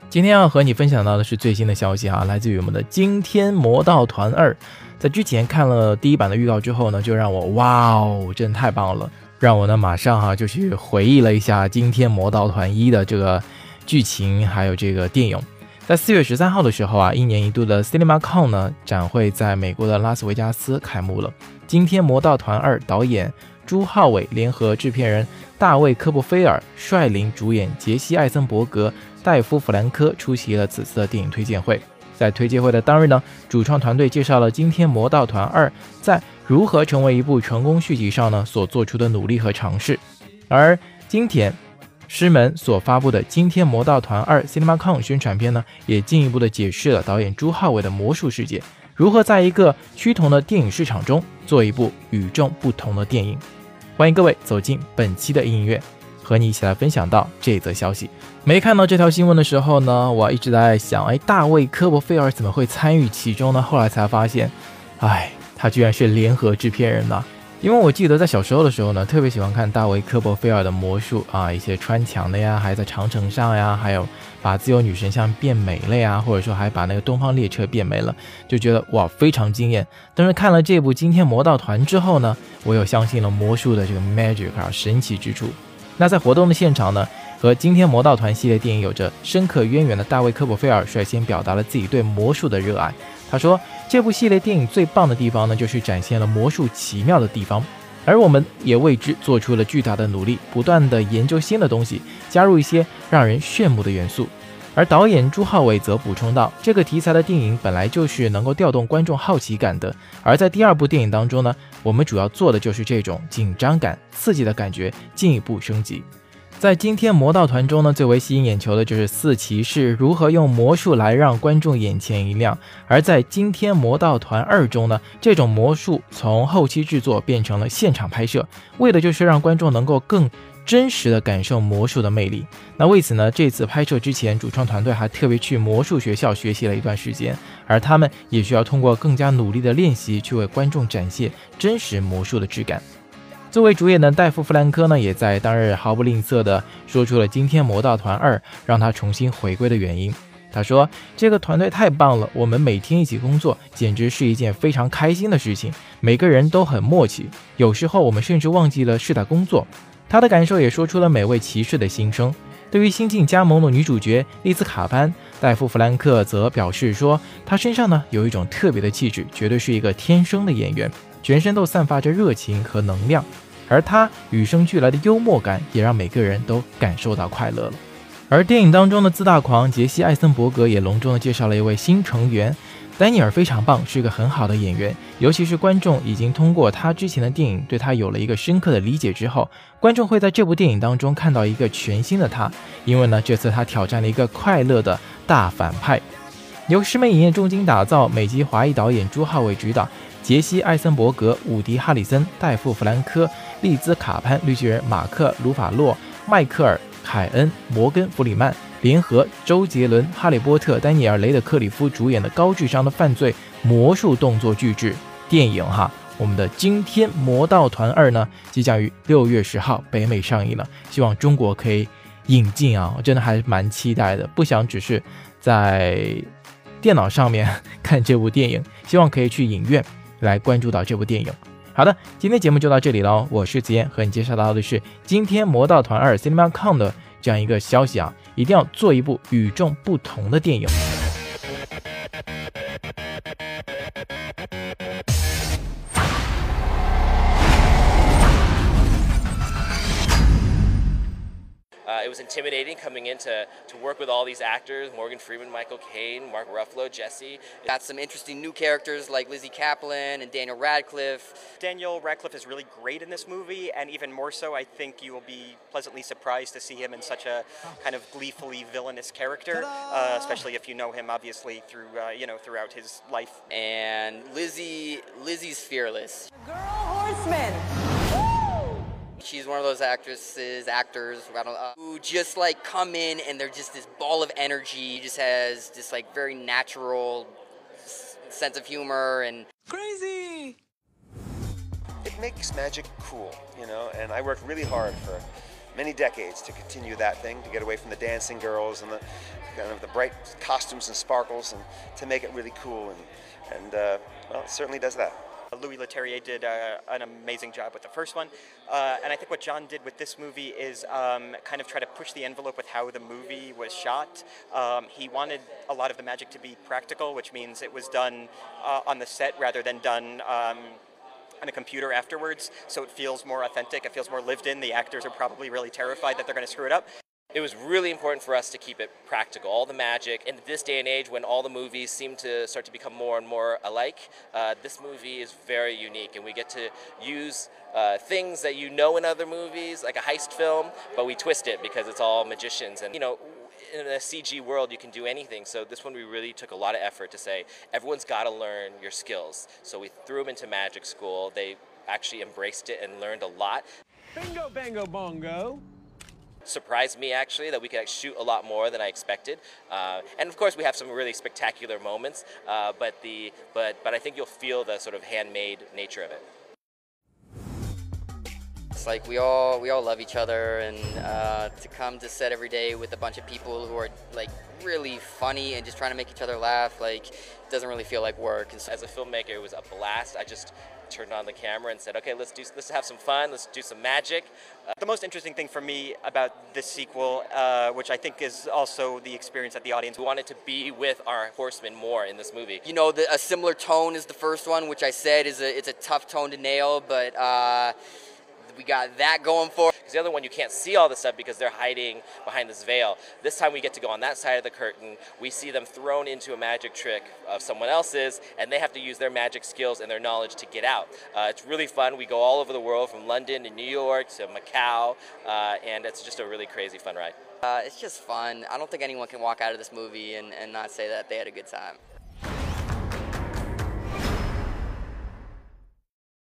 今天要和你分享到的是最新的消息来自于我们的惊天魔盗团2。在之前看了第一版的预告之后呢，就让我哇哦，真的太棒了，让我呢马上就去回忆了一下惊天魔盗团1的这个剧情还有这个电影。在4月13号的时候一年一度的 CinemaCon 呢展会在美国的拉斯维加斯开幕了。惊天魔盗团2导演朱浩伟联合制片人大卫科波菲尔率领主演杰西艾森伯格、戴夫弗兰科出席了此次的电影推荐会。在推介会的当日呢，主创团队介绍了惊天魔盗团2在如何成为一部成功续集上呢所做出的努力和尝试。而今天狮门所发布的惊天魔盗团2 CinemaCon 宣传片呢，也进一步的解释了导演朱浩伟的魔术世界如何在一个趋同的电影市场中做一部与众不同的电影。欢迎各位走进本期的音乐，和你一起来分享到这则消息。没看到这条新闻的时候呢，我一直在想，大卫科波菲尔怎么会参与其中呢？后来才发现，他居然是联合制片人呢。因为我记得在小时候的时候呢，特别喜欢看大卫科波菲尔的魔术一些穿墙的呀，还在长城上呀，还有把自由女神像变没了呀，或者说还把那个东方列车变没了，就觉得哇非常惊艳。但是看了这部惊天魔盗团之后呢，我又相信了魔术的这个 magic 神奇之处。那在活动的现场呢，和惊天魔盗团系列电影有着深刻渊源的大卫科波菲尔率先表达了自己对魔术的热爱。他说，这部系列电影最棒的地方呢，就是展现了魔术奇妙的地方，而我们也为之做出了巨大的努力，不断的研究新的东西，加入一些让人炫目的元素。而导演朱浩伟则补充道，这个题材的电影本来就是能够调动观众好奇感的，而在第二部电影当中呢，我们主要做的就是这种紧张感、刺激的感觉进一步升级。在惊天魔盗团中呢，最为吸引眼球的就是四骑士如何用魔术来让观众眼前一亮。而在惊天魔盗团2中呢，这种魔术从后期制作变成了现场拍摄，为的就是让观众能够更真实的感受魔术的魅力。那为此呢，这次拍摄之前，主创团队还特别去魔术学校学习了一段时间，而他们也需要通过更加努力的练习去为观众展现真实魔术的质感。作为主演的戴夫·弗兰科呢，也在当日毫不吝啬地说出了惊天魔盗团2让他重新回归的原因。他说，这个团队太棒了，我们每天一起工作简直是一件非常开心的事情，每个人都很默契，有时候我们甚至忘记了是在工作。他的感受也说出了每位骑士的心声。对于新晋加盟的女主角丽兹卡潘，戴夫·弗兰克则表示说，她身上呢有一种特别的气质，绝对是一个天生的演员，全身都散发着热情和能量，而他与生俱来的幽默感也让每个人都感受到快乐了。而电影当中的自大狂杰西·艾森伯格也隆重地介绍了一位新成员，丹尼尔非常棒，是一个很好的演员，尤其是观众已经通过他之前的电影对他有了一个深刻的理解之后，观众会在这部电影当中看到一个全新的他，因为呢，这次他挑战了一个快乐的大反派。由狮门影业重金打造，美籍华裔导演朱浩伟执导，杰西·艾森伯格、伍迪·哈里森、戴夫·弗兰科、丽兹·卡潘、绿巨人马克·鲁法洛、迈克尔·凯恩、摩根·弗里曼联合周杰伦、哈利波特、丹尼尔·雷德克里夫主演的高智商的犯罪魔术动作巨制电影我们的惊天魔盗团2呢，即将于6月10号北美上映了，希望中国可以引进我真的还蛮期待的，不想只是在电脑上面看这部电影，希望可以去影院来关注到这部电影。好的，今天节目就到这里了，我是子燕，和你介绍到的是惊天魔盗团2 CinemaCon 的这样一个消息一定要做一部与众不同的电影。 It was intimidating coming in to work with all these actors, Morgan Freeman, Michael Caine, Mark Ruffalo, Jesse. Got some interesting new characters like Lizzie Kaplan and Daniel Radcliffe. Daniel Radcliffe is really great in this movie, and even more so, I think you will be pleasantly surprised to see him in such a kind of gleefully villainous character, especially if you know him obviously through throughout his life. And Lizzie's fearless. Girl horseman. She's one of those actors, who just like come in and they're just this ball of energy. Just has this like very natural sense of humor and Crazy. It makes magic cool, and I worked really hard for many decades to continue that thing, to get away from the dancing girls and the kind of the bright costumes and sparkles, and to make it really cool. And well, it certainly does that. Louis Leterrier did an amazing job with the first one, and I think what John did with this movie is kind of try to push the envelope with how the movie was shot. He wanted a lot of the magic to be practical, which means it was done on the set rather than done on a computer afterwards, so it feels more authentic, it feels more lived in. The actors are probably really terrified that they're going to screw it up. It was really important for us to keep it practical. All the magic, in this day and age when all the movies seem to start to become more and more alike, this movie is very unique, and we get to use things that you know in other movies, like a heist film, but we twist it because it's all magicians. And, you know, in a CG world, you can do anything. So this one, we really took a lot of effort to say, everyone's got to learn your skills. So we threw them into magic school. They actually embraced it and learned a lot. Bingo, bango, bongo. Surprised me actually that we could shoot a lot more than I expected, and of course we have some really spectacular moments, but I think you'll feel the sort of handmade nature of it. It's like we all love each other, and to come to set every day with a bunch of people who are like really funny and just trying to make each other laugh, like it doesn't really feel like work. And so, as a filmmaker, it was a blast. I just turned on the camera and said, okay, let's have some fun, let's do some magic. The most interesting thing for me about this sequel, which I think is also the experience that the audience we wanted to be with our horsemen more in this movie. you know, a similar tone as the first one, which I said it's a tough tone to nail, but we got that going for. Because the other one, you can't see all the stuff because they're hiding behind this veil. This time we get to go on that side of the curtain. We see them thrown into a magic trick of someone else's, and they have to use their magic skills and their knowledge to get out. It's really fun. We go all over the world, from London to New York to Macau, and it's just a really crazy fun ride. It's just fun. I don't think anyone can walk out of this movie and not say that they had a good time.